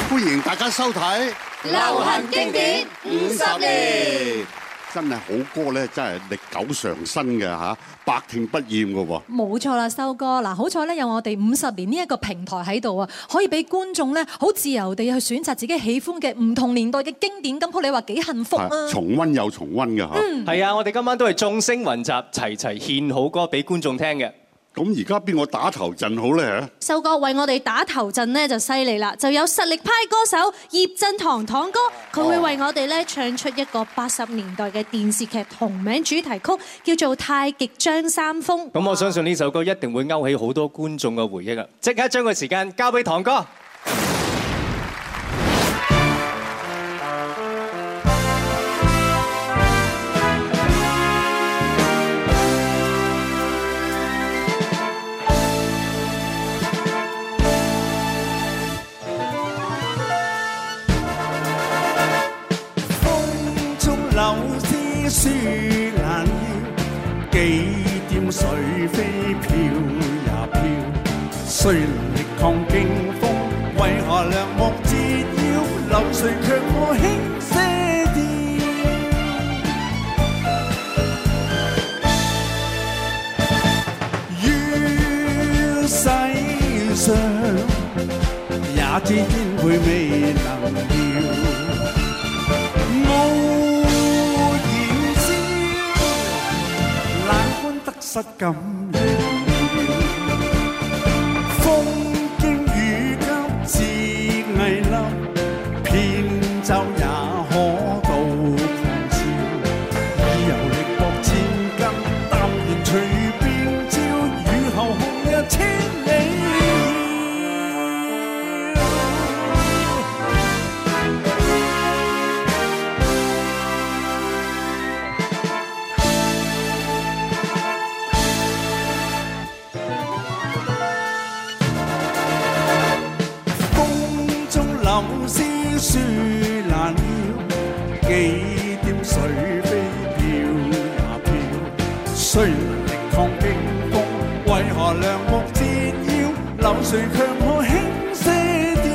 歡迎大家收睇流行經典50年。 真係好歌咧，真係歷久常新嘅嚇，百聽不厭嘅喎。 冇錯啦，修哥嗱，好彩咧有我哋50年呢一個平台喺度啊，可以俾觀眾咧好自由地去選擇自己喜歡嘅唔同年代嘅經典金曲，你話幾幸福啊！ 重溫又重溫嘅嚇。 係啊，我哋今晚都係眾星雲集，齊齊獻好歌俾觀眾聽嘅。 咁而家邊個打頭陣好咧？ 修哥為我哋打頭陣咧就犀利啦，就有實力派歌手葉振棠堂哥，佢會為我哋咧唱出一個80年代嘅電視劇同名主題曲，叫做《太極張三豐》。 咁我相信呢首歌一定會勾起好多觀眾嘅回憶啊！即刻將個時間交俾堂哥。 書難要，幾點水飛飄也飄。雖能力抗驚風，為何梁木折腰？流水卻可輕些掉。於世上，也知天配未能料。失感了，風經雨急自危立，扁舟也可渡狂潮。以柔力搏千斤，淡然隨便招，雨後紅日千里。書難了，幾點水飛飄也飄。雖能力抗驚風，為何梁木折腰？流水卻可輕些掉。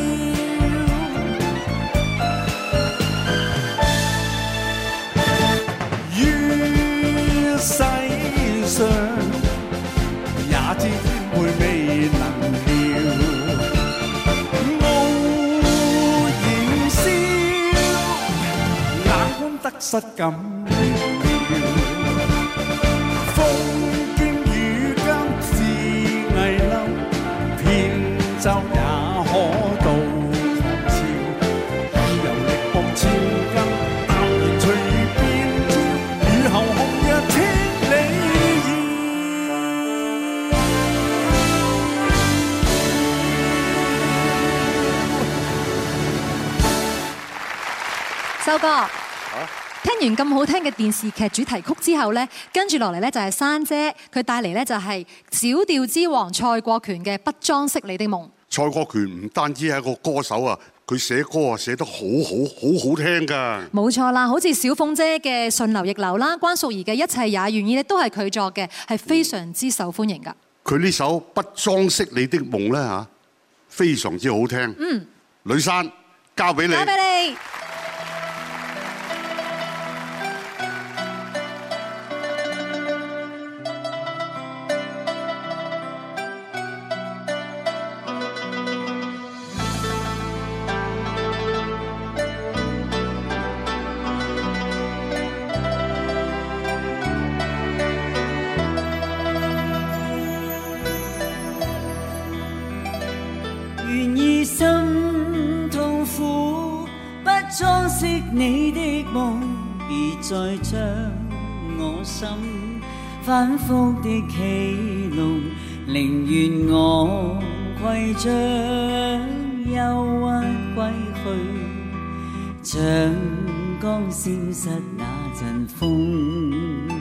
於世上，也知天配未能料。得失感了，風經雨急自危立，扁舟也可渡狂潮。以柔力搏千斤，淡然隨便招，雨後紅日千里遙。修哥。聽完咁好聽嘅電視劇主題曲之後呢，跟住落嚟呢就係珊姐，佢帶嚟呢就係小調之王蔡國權嘅《不裝飾你的夢》。 蔡國權唔單止係一個歌手啊，佢寫歌啊寫得好好聽㗎。冇錯啦，好似小鳳姐嘅《順流逆流》啦，關淑怡嘅《一切也願意》都係佢作嘅，係非常之受歡迎㗎。 佢呢首《不裝飾你的夢》呢，嚇，非常之好聽。呂珊，交俾你。交俾你。 你的夢，別再將我心反覆的戲弄，寧願我攜着憂鬱歸去，像剛消失那陣風。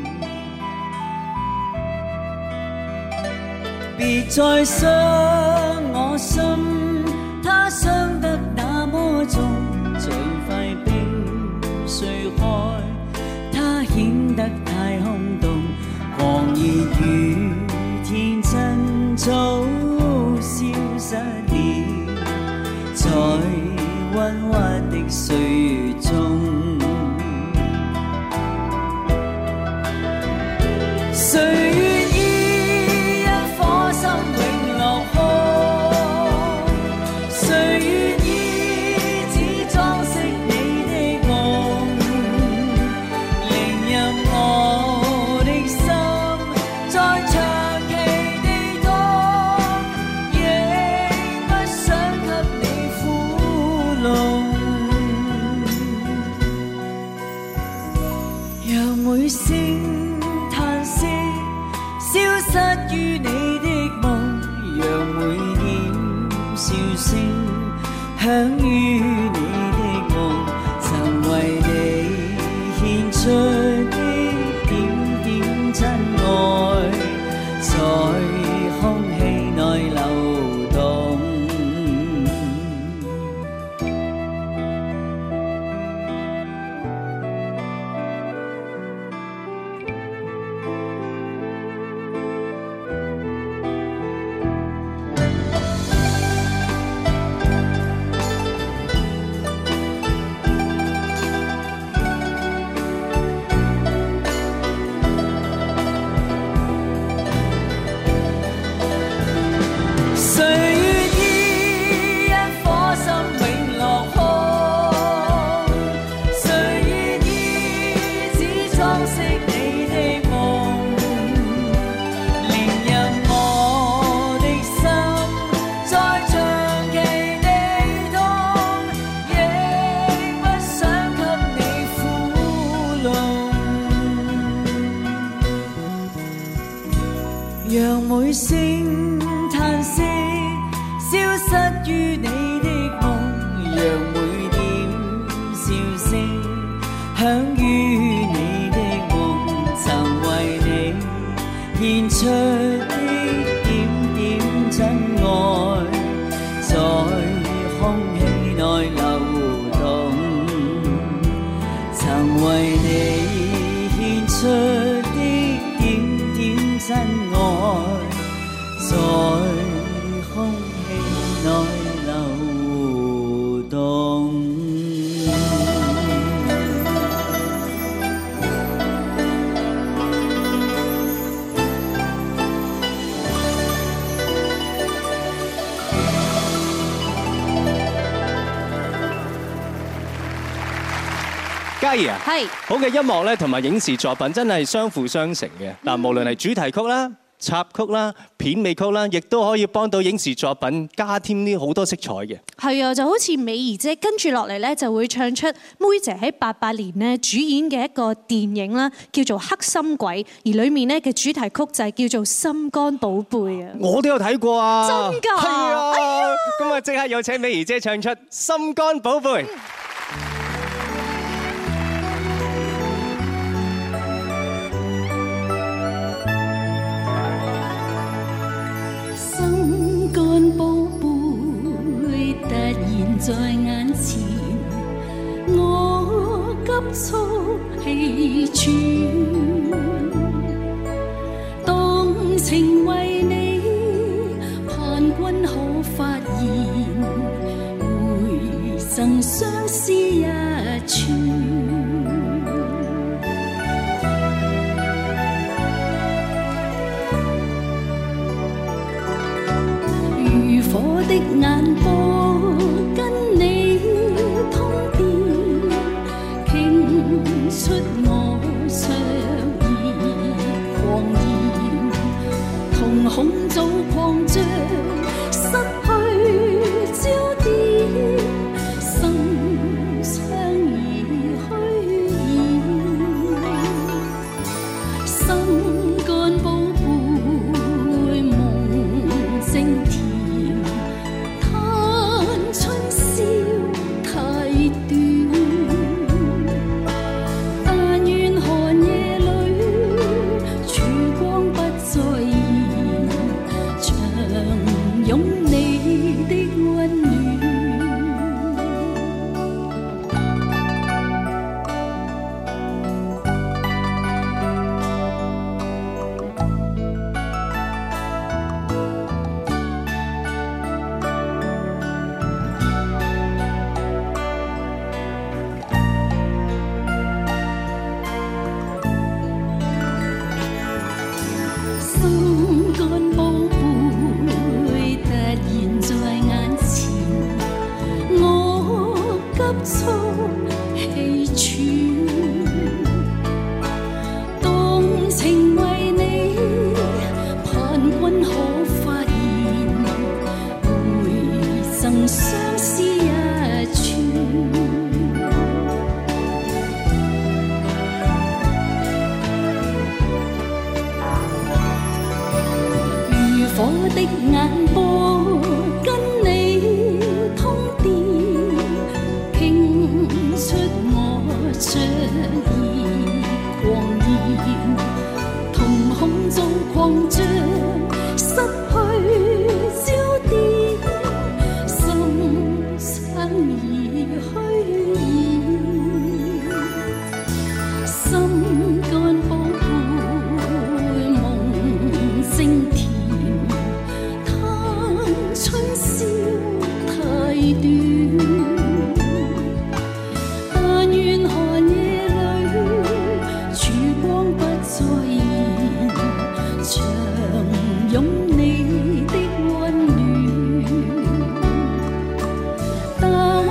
別再傷我心，它傷得那麼重，像塊冰碎開，它顯得太空洞，狂熱與天真早消失了，才溫滑的歲月中，誰願意一顆心永落空？誰願意只裝飾你的夢？令任我的心再長期地凍，亦不想給你苦弄。讓每聲嘆息消失於你的夢，讓每點笑聲響於你的夢，曾為你獻出的點點真愛，在空氣內流動。誰願意一顆心永落空？誰願意只裝飾你的夢？連任我的心再長期地凍，亦不想給你苦弄。讓每聲嘆息消失於你的夢，讓每點笑聲響於你的夢，曾為你獻出的點點真愛，在空氣內流動，曾為你獻出的點點真愛，在空氣內流動。 嘉怡啊， 係好嘅音樂咧，同埋影視作品真係相輔相成嘅。嗱，無論係主題曲啦、插曲啦、片尾曲啦，亦都可以幫到影視作品加添啲好多色彩嘅。 係啊，就好似美儀姐跟住落嚟咧，就會唱出妹姐喺88年咧主演嘅一個電影啦，叫做《黑心鬼》，而裡面咧嘅主題曲就係叫做《心肝寶貝》啊。 我都有睇過啊！ 真㗎？ 係啊！ 哎呀， 咁啊，即刻有請美儀姐唱出《心肝寶貝》。 心肝寶貝突然在眼前，我急速氣喘，當情為你盼君可發現，回贈相思一串。火的眼波跟你通電，傾出我灼熱狂言，瞳孔早擴張，失去焦點，心窗已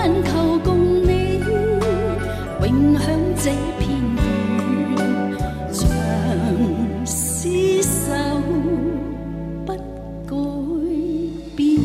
但求共你永享這片緣，像廝守不改變。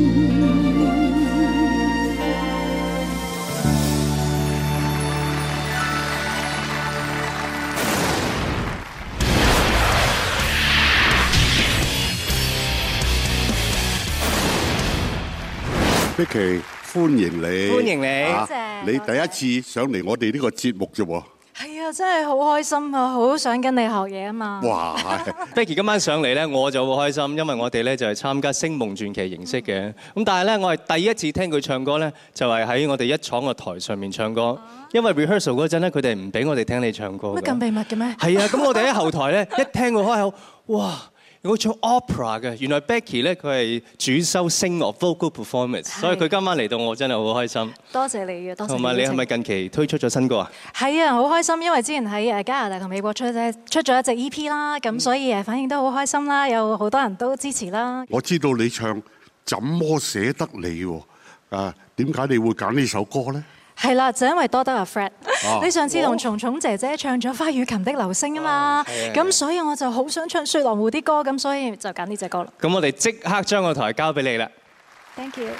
Becky，歡迎你， 歡迎你， 多謝。你第一次上嚟我哋呢個節目啫喎。 係啊，真係好開心啊！好想跟你學嘢啊嘛。 哇 ！Becky 今晚上嚟咧，我就好開心，因為我哋咧就係參加星夢傳奇形式嘅。咁但係咧，我係第一次聽佢唱歌咧，就係喺我哋一廠嘅台上面唱歌。因為 rehearsal 嗰陣咧，佢哋唔俾我哋聽你唱歌。 乜咁秘密嘅咩？ 係啊，咁我哋喺後台咧一聽佢開口，哇！我唱 opera 嘅，原來 Becky 咧佢係主修 sing of vocal performance， 所以佢今晚嚟到我真係好開心。 多謝你嘅，多謝。 同埋你係咪近期推出咗新歌啊？ 係啊，好開心，因為之前喺加拿大同美國出咗一隻 EP 啦，咁所以反應都好開心啦，有好多人都支持啦。 我知道你唱怎麼捨得你喎？點解你會揀呢首歌咧？ 係啦，就因為多得阿 Fred，你上次同蟲蟲姐姐唱咗《花與琴的流星》啊嘛，咁所以我就好想唱雪狼湖啲歌，咁所以就揀呢隻歌啦。 咁我哋即刻將個台交俾你啦。 Thank you。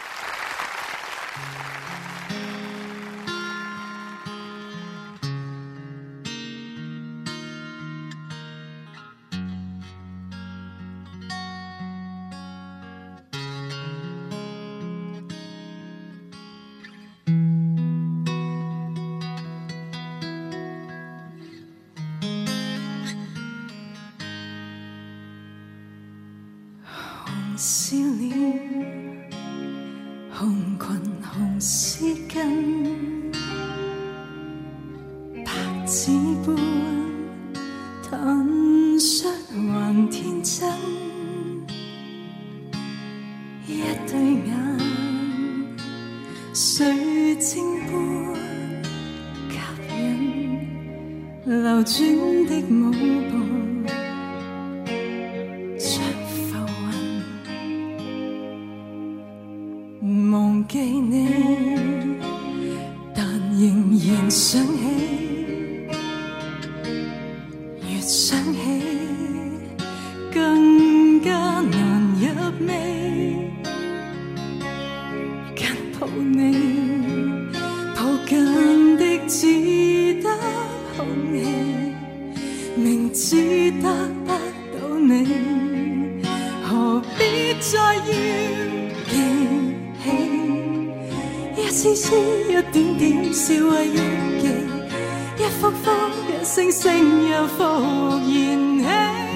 笑臉，紅裙紅絲巾，白紙般坦率還天真，一對眼水晶般吸引，流轉的舞步。忘記你，但仍然想起，越想起更加難入味。緊抱你，抱緊的只得空氣，明知得不到你，何必再要記？一絲絲一點點笑為憶記，一幅幅一聲聲又復燃起，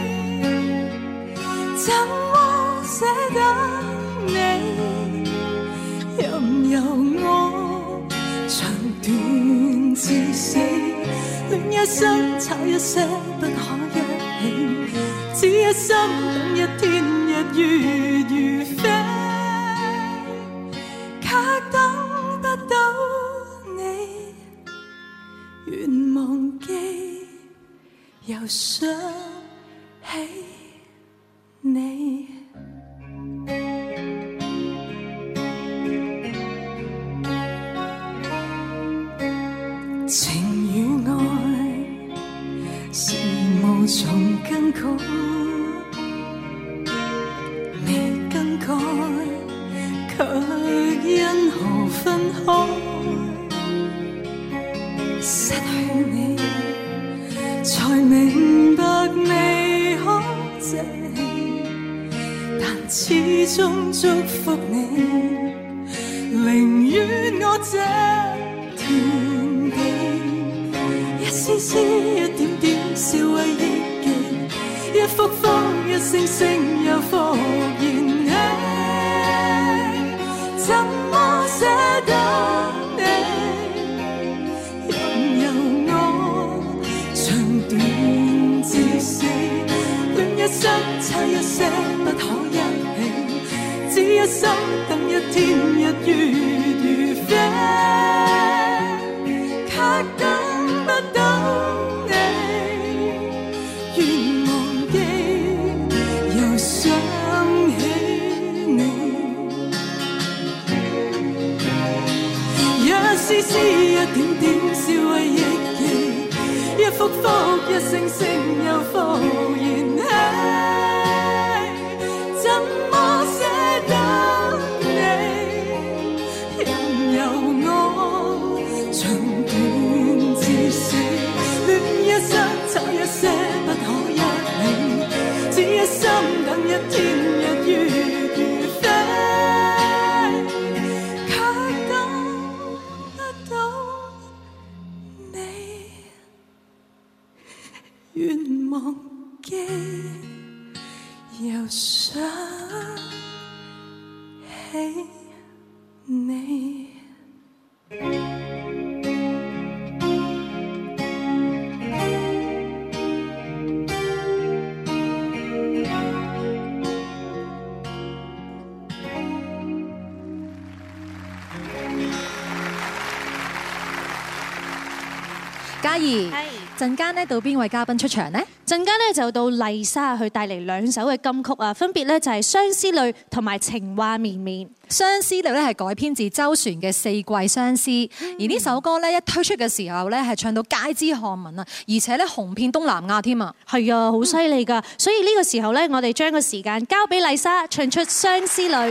怎麼捨得你？任由我長斷至死，戀一生差一些不可一起，只一心等一天日月如飛。等不到你，願忘記，又想起你。情與愛是無從更改，未更改。卻因何分開？失去你，才明白未可捨棄，但始終祝福你，寧願我這團地，一絲絲一點點笑為憶記，一幅幅一聲聲又復燃起。怎麼捨得你？任由我長斷至死，戀一生差一些不可一起，只一心等一天日月如飛，卻等不到你，願忘記，又想起你。 絲絲一點點消毀憶記，一幅幅一聲聲又復燃。怎麼捨得你，任由我長斷至死，戀一生找一些不可一理，只一心等一天日月如飛，卻等不到你，願忘記又想起你。 嘉怡，陣間咧到邊位嘉賓出場呢？ 陣間咧就到麗莎去帶嚟2首嘅金曲啊，分別咧就係《相思淚》同埋《情話綿綿》。《 相思淚》咧係改編自周璇嘅《四季相思》，而呢首歌咧一推出嘅時候咧係唱到街知巷聞啊，而且咧紅遍東南亞添啊！ 係啊，好犀利㗎！所以呢個時候咧，我哋將個時間交俾麗莎唱出《相思淚》。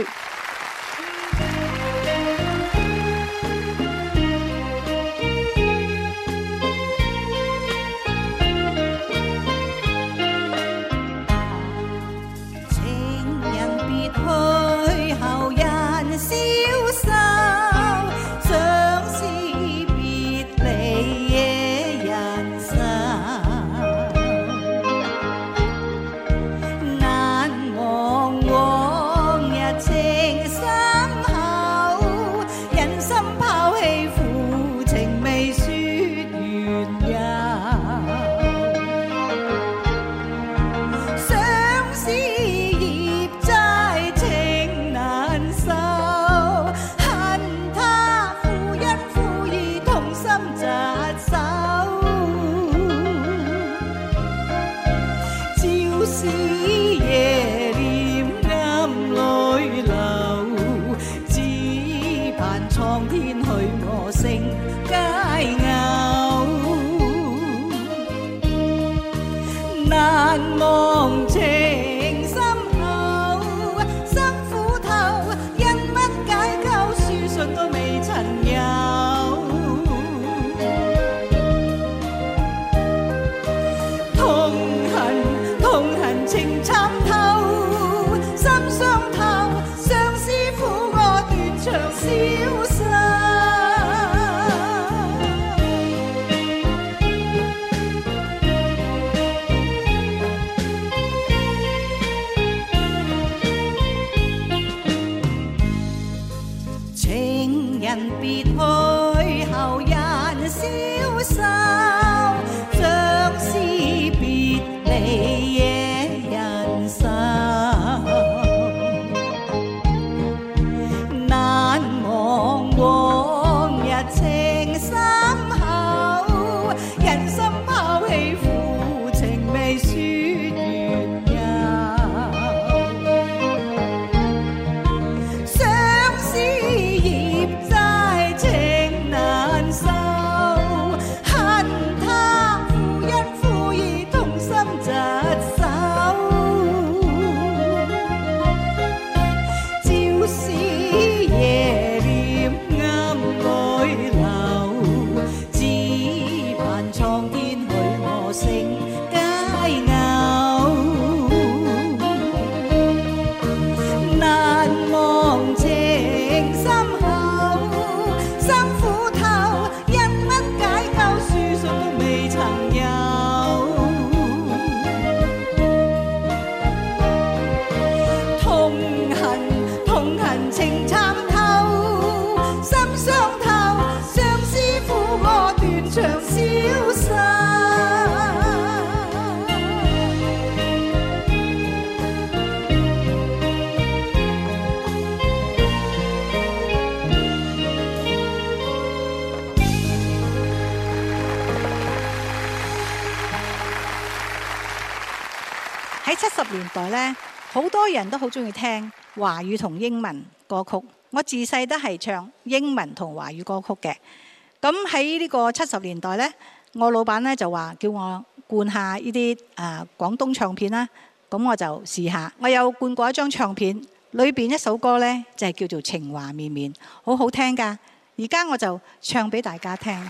喺70年代咧，好多人都好中意聽華語同英文歌曲。 我自細都係唱英文同華語歌曲嘅。咁喺呢個70年代呢，我老闆呢就話叫我灌下呢啲廣東唱片啦。咁我就試下，我有灌過一張唱片，裏邊一首歌呢就係叫做《情話綿綿》，好好聽㗎。而家我就唱俾大家聽。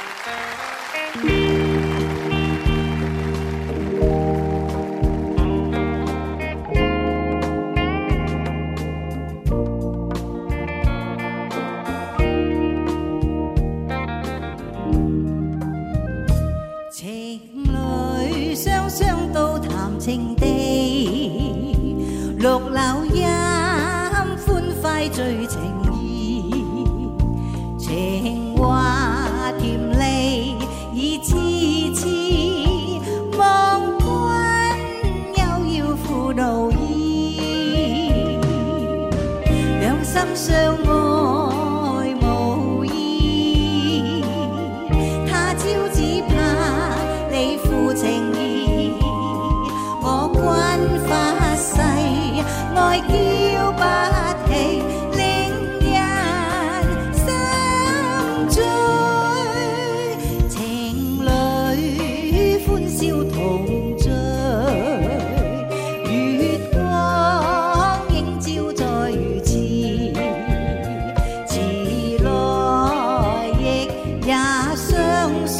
情侶雙雙到談情地，綠柳音歡快最情意，情話甜膩已痴痴，望君悠遙負奴意，兩心相愛無意，他朝只怕你負情意，我君發誓愛嬌不起，令人心醉。情侶歡笑同醉，月光映照在如此，遲來亦也雙雙。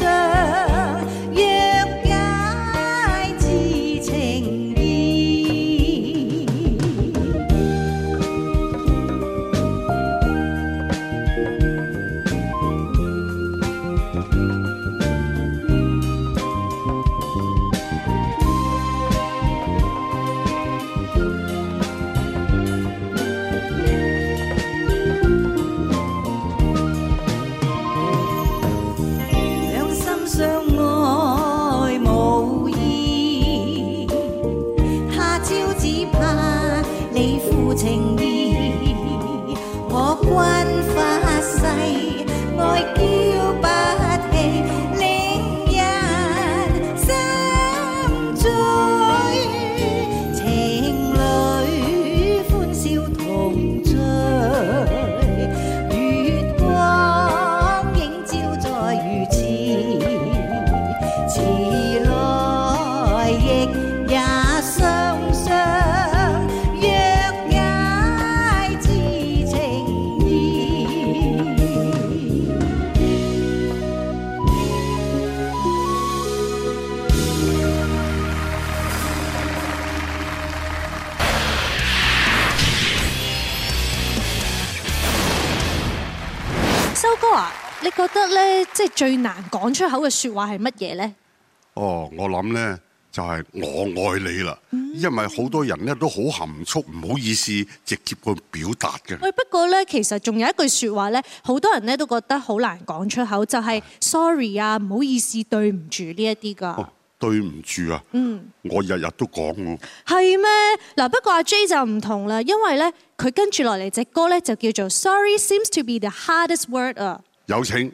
你覺得咧，即係最難講出口嘅説話係乜嘢咧？ 哦，我諗咧就係我愛你啦，因為好多人咧都好含蓄，唔好意思直接去表達嘅。 喂，不過咧，其實仲有一句説話咧，好多人咧都覺得好難講出口，就係 sorry 啊，唔好意思，對唔住呢一啲㗎。 哦，對唔住啊，我日日都講喎。 係咩？嗱，不過阿 J 就唔同啦，因為咧佢跟住落嚟隻歌咧就叫做 Sorry seems to be the hardest word 啊。 有請。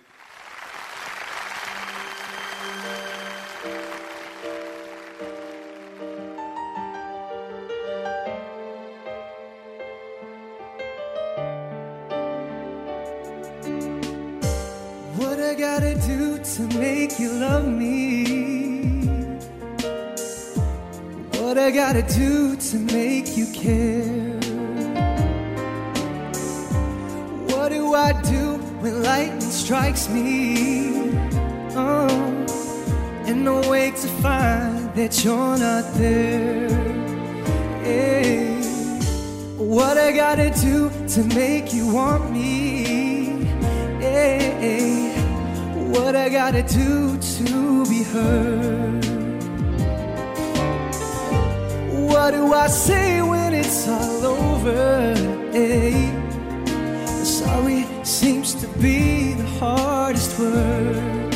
What I gotta do to make you love me? What I gotta do to make you care? What do I do when lightning strikes me? Oh, and I wake to find that you're not there. Hey, what I gotta do to make you want me? Hey, what I gotta do to be heard? What do I say when it's all over? Hey, sorry seems to be the hardest word.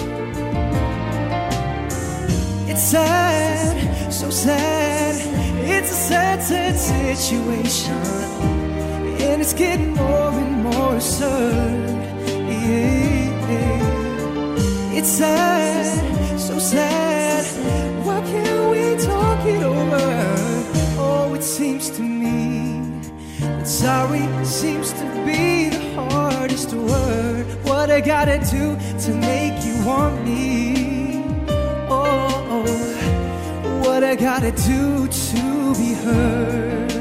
It's sad, so sad. It's a sad, sad situation, and it's getting more and more absurd. Yeah. It's sad, so sad. Why can't we talk it over? Oh, it seems to me that sorry seems to be hardest word. What I gotta do to make you want me? Oh, what I gotta do to be heard?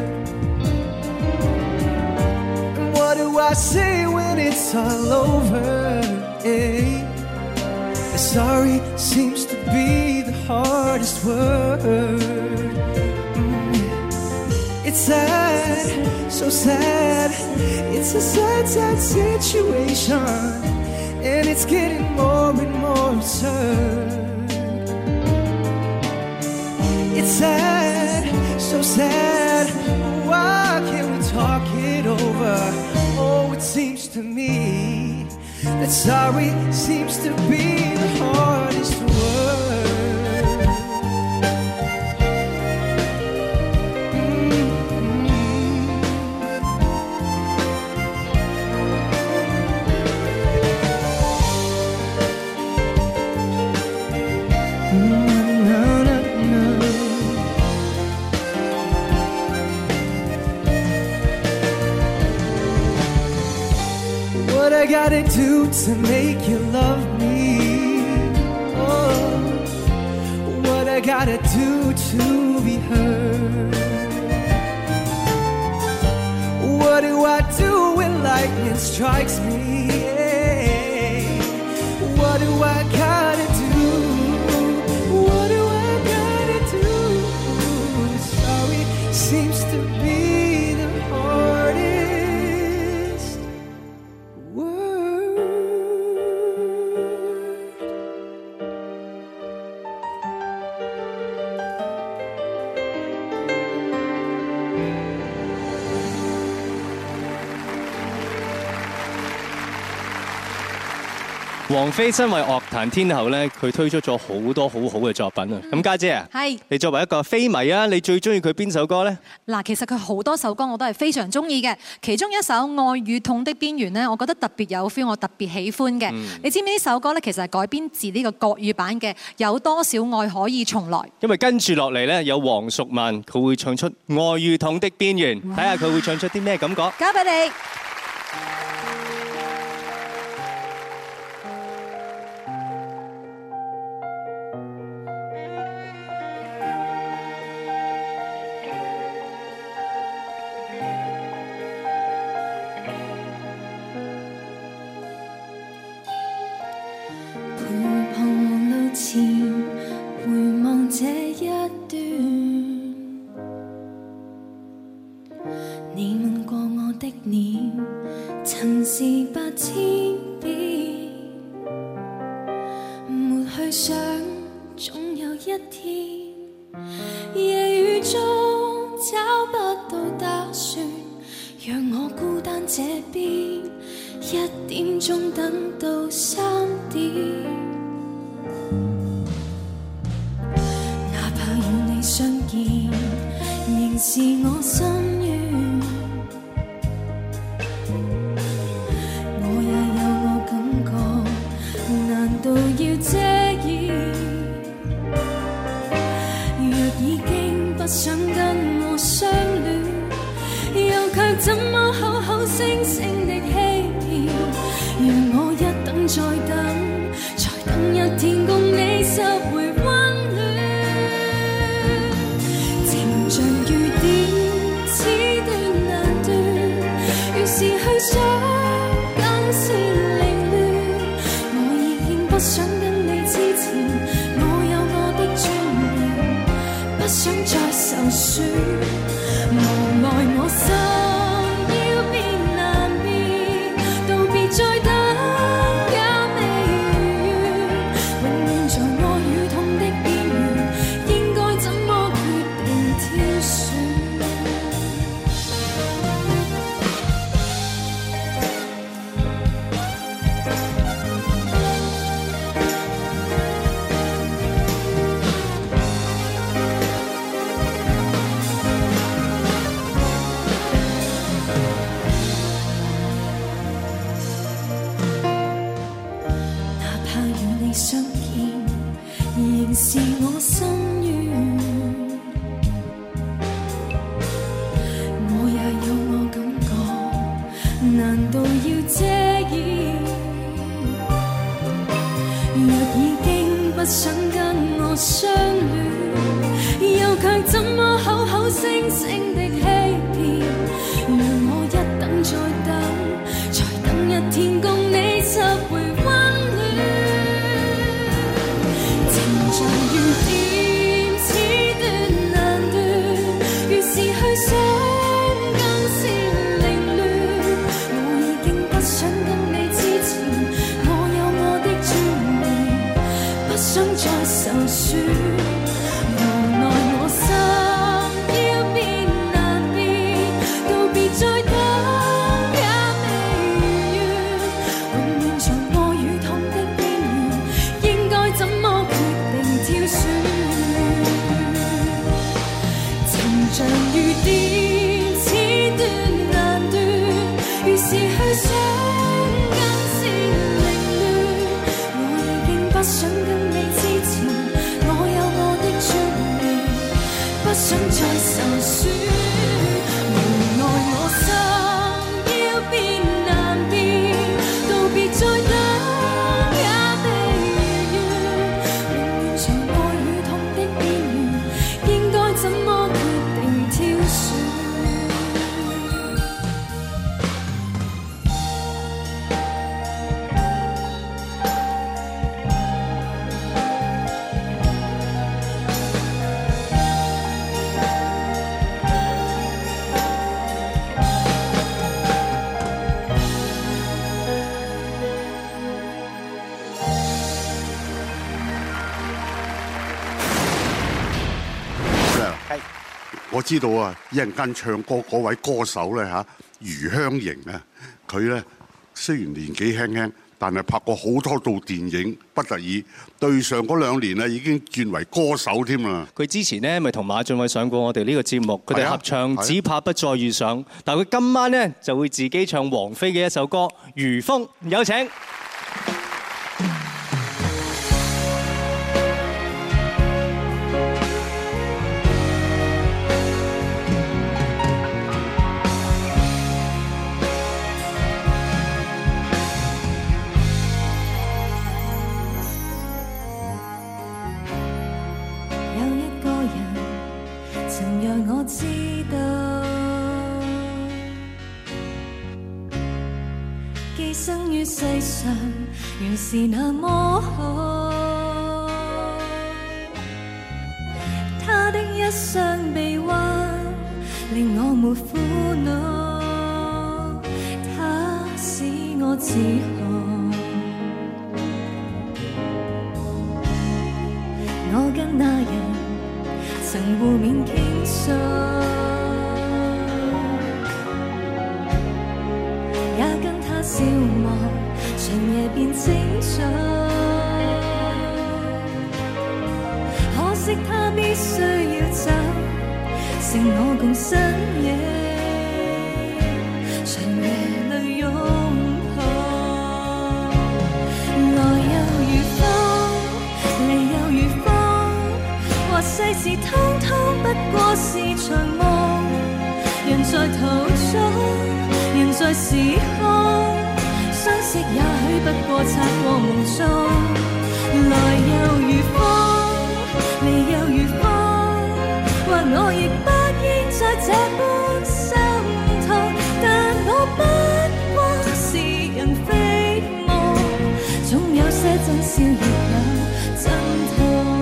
And what do I say when it's all over? Hey, sorry seems to be the hardest word. It's sad, so sad. It's a sad, sad situation, and it's getting more and more absurd. It's sad, so sad. Why can't we talk it over? Oh, it seems to me that sorry seems to be the hardest word. What I gotta do to make you love me? Oh, what I gotta do to be heard? What do I do when lightning strikes me? Yeah. What do I gotta do? What do I gotta do? Sorry seems to be the hardest word. 王菲身為樂壇天后咧，佢推出咗好多好好嘅作品啊！咁家姐啊， 係你作為一個菲迷啊，你最中意佢邊首歌呢？ 嗱，其實佢好多首歌我都係非常中意嘅，其中一首《愛與痛的邊緣》呢，我覺得特別有 feel， 我特別喜歡嘅。你知唔知呢首歌呢？其實係改編自呢個國語版嘅《有多少愛可以重來》。 因為跟住落嚟呢，有黃淑蔓佢會唱出《愛與痛的邊緣》，睇下佢會唱出啲咩感覺。 交俾你。 難道要這若已經不想跟我相戀，又卻怎麼口口聲聲的欺騙？讓我一等再等，才等一天共你拾回溫暖。情像雨點，此斷難斷，越是去想更是凌亂。我已經不想跟你之前，我有我的尊嚴，不想再受損。無奈我心要變難變，道別再等也未願，永遠在愛與痛的邊緣，應該怎麼決定挑選？情像雨點，此斷難斷，越是去想更是凌亂。我已經不想跟你之前，我有我的尊嚴，不想再受損。無奈我心要變難變，道別再等也未願，永遠在愛與痛的邊緣，應該怎麼決定挑選？ 我知道啊，一陣間唱歌嗰位歌手咧嚇，余香凝啊，佢咧雖然年紀輕輕，但係拍過好多套電影，不得已對上嗰2年啊已經轉為歌手添啦。 佢之前咧咪同馬浚偉上過我哋呢個節目，佢哋合唱《只怕不再遇上》，但係佢今晚咧就會自己唱王菲嘅一首歌《如風》，有請。 有一個人曾讓我知道，寄生於世上原是那麼好。他的一雙臂彎令我沒苦惱，他使我自豪。我跟那人曾互勉傾訴，也跟他消磨，長夜變清早。可惜他必須要走，剩我共深夜，長夜裏擁抱。來又如風，離又如風，或世事通通不過是場夢。人在途中，人在時空，相識也許不過擦過夢中。來又如風，離又如風，或我亦不應再這般心痛。但我不過是人非夢，總有些真笑亦有真痛。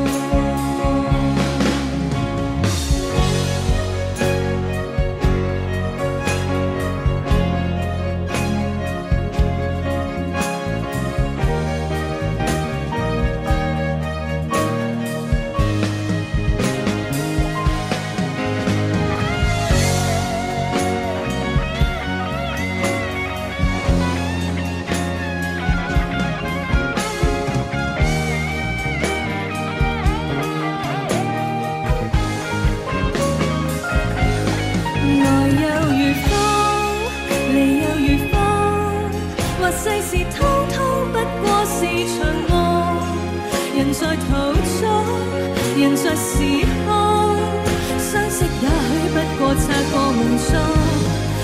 世事通通不過是場夢，人在途中，人在時空，相識也許不過擦過夢中。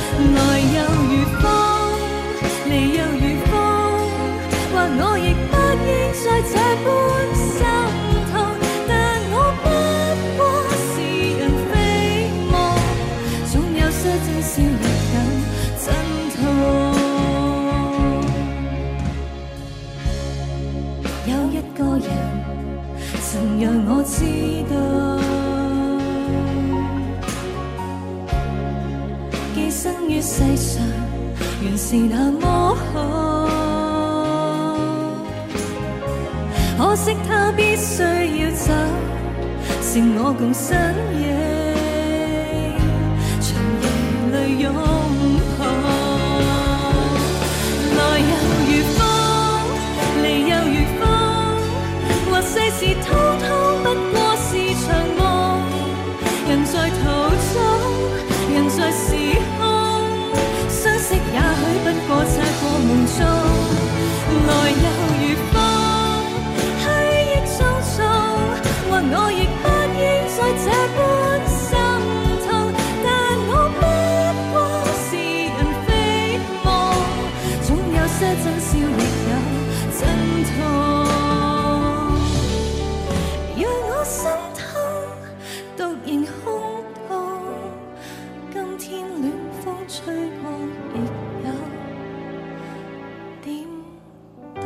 來又如風，離又如風，或我亦不應再這般心痛，但我不過是人非夢，總有些真笑亦有真痛。有一個人曾讓我知道，寄生於世上原是那麼好，可惜他必須要走，是我共身影，長夜裏擁抱。來又如風，離又如風，或世事通通不過是場夢，人在途中，人在時空，相識也許不過擦過夢中。來又如風，去亦匆匆，或我亦不應再這般心痛，但我不過是人非夢，總有些真笑亦有真痛。讓我心痛，獨仍空洞，今天暖風吹過亦有點凍。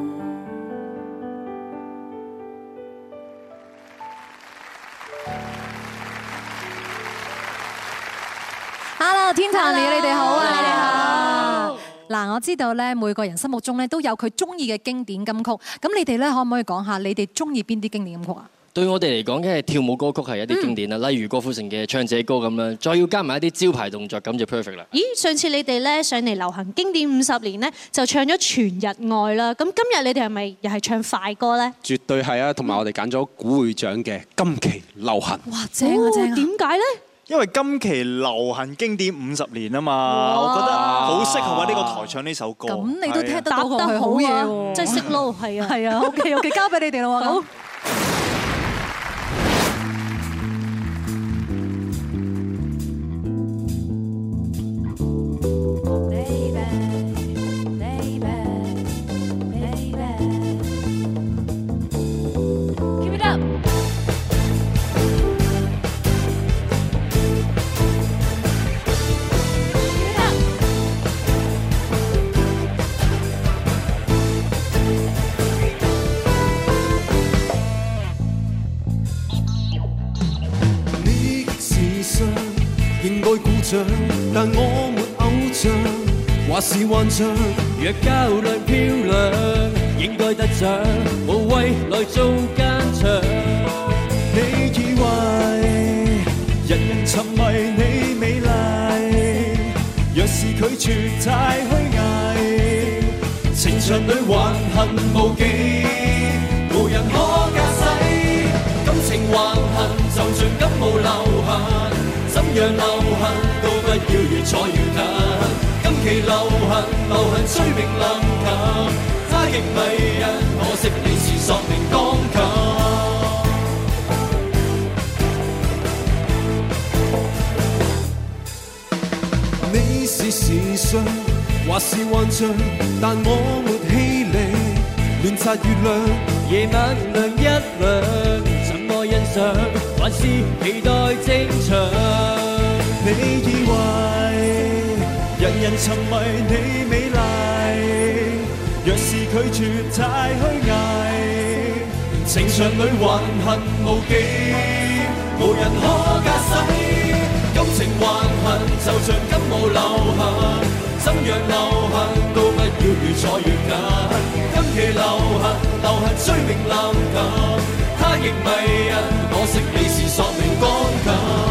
Hello， 天壇你哋好啊！你哋好。嗱，我知道咧，每個人心目中咧都有佢中意嘅經典金曲。咁你哋咧可唔可以講下你哋中意邊啲經典金曲啊？ 對我哋嚟講，梗係跳舞歌曲係一啲經典啦，例如郭富城嘅《唱這歌》咁啦，再要加埋一啲招牌動作，咁就 perfect 啦。 咦，上次你哋咧上嚟流行經典50年咧，就唱咗《全日愛》啦。咁今日你哋係咪又係唱快歌咧？ 絕對係啊，同埋我哋揀咗古會長嘅今期流行。 哇，正啊正啊！ 點解咧？ 因為今期流行經典50年啊嘛，我覺得好適合喺呢個台唱呢首歌。 咁你都聽得到佢好嘢喎， 真係識撈，係啊， 係啊，OK， 交俾你哋咯喎。好。 但我沒偶像，或是幻象。若較量漂亮，應該得獎，無謂來做奸場。你以為人人沉迷你美麗，若是拒絕太虛偽，情場裏橫行無忌，無人可駕駛。感情橫行就像感冒流行，怎樣流行都不要越坐越近。今期流行催命臨近，他亦迷人，可惜你是索命鋼琴。你是時尚，或是幻象，但我沒氣力亂擦月亮，夜晚亮一亮，怎麼欣賞，還是期待正常。你以為人人沉迷你美麗，若是拒絕太虛偽，情場裏橫行無忌，無人可駕駛。感情橫行就像感冒流行，怎樣流行都不要越坐越近。今期流行催命臨近，他亦迷人，可惜你是索命鋼琴。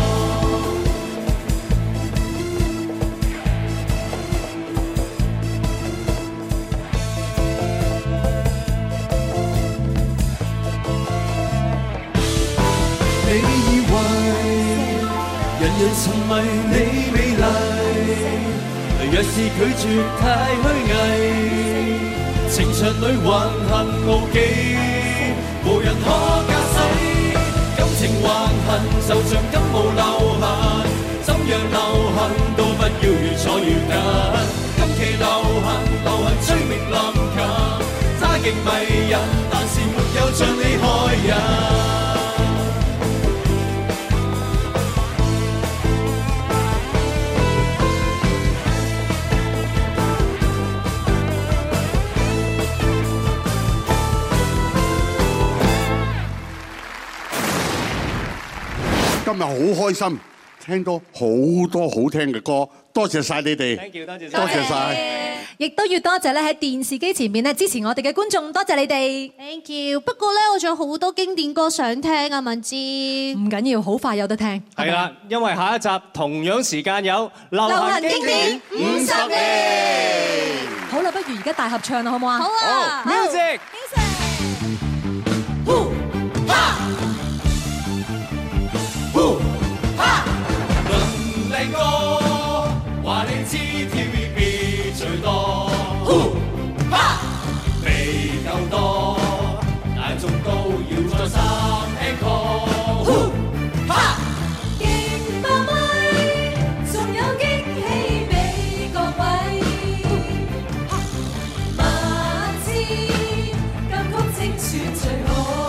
你以為人人沉迷你美麗，若是拒絕太虛偽，情場裏橫行無忌，無人可駕駛。感情橫行就像感冒流行，怎樣流行都不要越坐越近。今期流行催命臨近，他亦極迷人，但是沒有像你害人。 今日好開心，聽到好多好聽嘅歌，多謝晒你哋，多謝晒。 亦都要多謝咧喺電視機前面咧支持我哋嘅觀眾，多謝你哋。 Thank you。不過咧，我仲有好多經典歌想聽啊，敏芝。 唔緊要，好快有得聽。 係啦，因為下一集同樣時間有流行經典50年。 好啦，不如而家大合唱啦，好唔好啊？ 好啊。 Music。 靚歌話你知 TVB 最多，未夠多，但仲都要再三 encore。 勁爆咪，仲有驚喜俾各位，萬千金曲精選最好。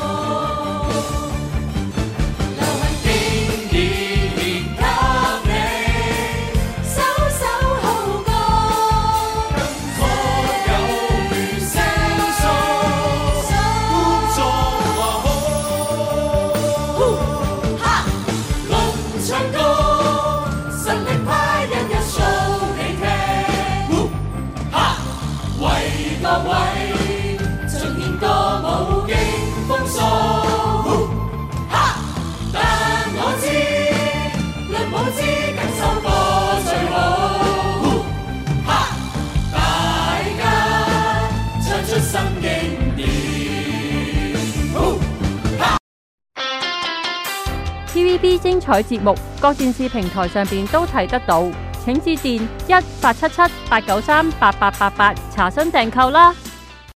TVB 精彩節目，各電視平台上邊都睇得到，請致電1-877-893-8888查詢訂購啦。